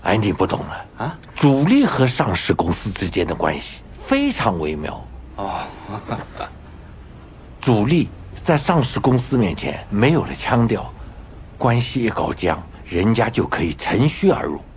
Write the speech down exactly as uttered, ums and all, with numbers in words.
哎，你不懂了啊！主力和上市公司之间的关系非常微妙哦。主力在上市公司面前没有了腔调，关系一搞僵，人家就可以乘虚而入。